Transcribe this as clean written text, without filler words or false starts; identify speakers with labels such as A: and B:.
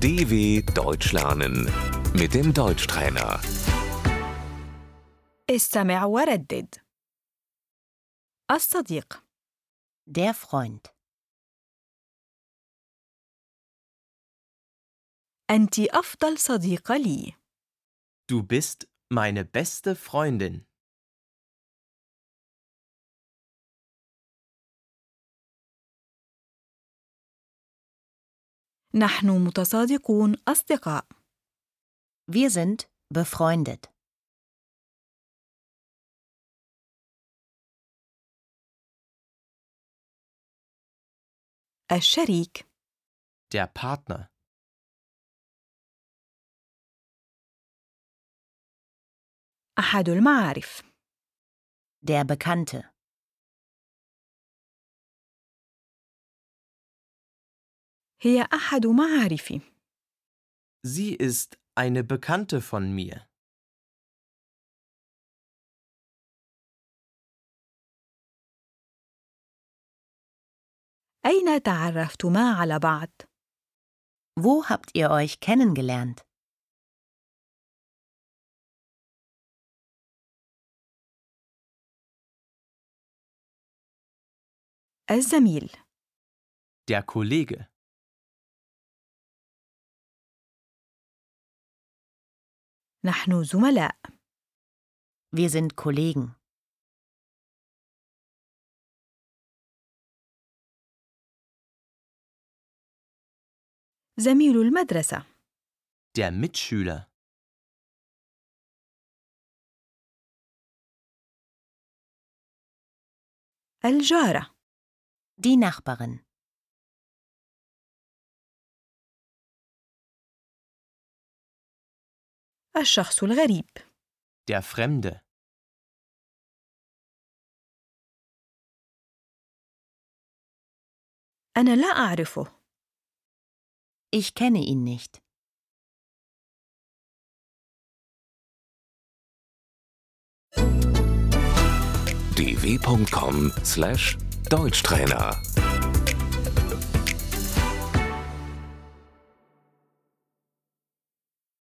A: DW Deutsch lernen mit dem Deutschtrainer.
B: استمع وردد. الصديق.
C: Der Freund.
B: أنت أفضل صديقة لي.
D: Du bist meine beste Freundin.
B: نحن متصادقون أصدقاء.
C: Wir sind befreundet.
B: الشريك.
D: Der Partner.
B: أحد المعارف.
C: Der Bekannte.
B: هي أحد معارفي.
D: Sie ist eine Bekannte von mir.
B: أين تعرفتما على بعض؟
C: Wo habt ihr euch kennengelernt?
B: الزميل.
D: Der Kollege.
B: نحن زملاء.
C: Wir sind Kollegen.
B: زميل المدرسة.
D: Der Mitschüler.
B: الجارة.
C: Die Nachbarin.
B: الشخص الغريب.
D: Der Fremde.
B: أنا لا أعرفه.
C: Ich kenne ihn nicht.
A: dw.com/Deutschtrainer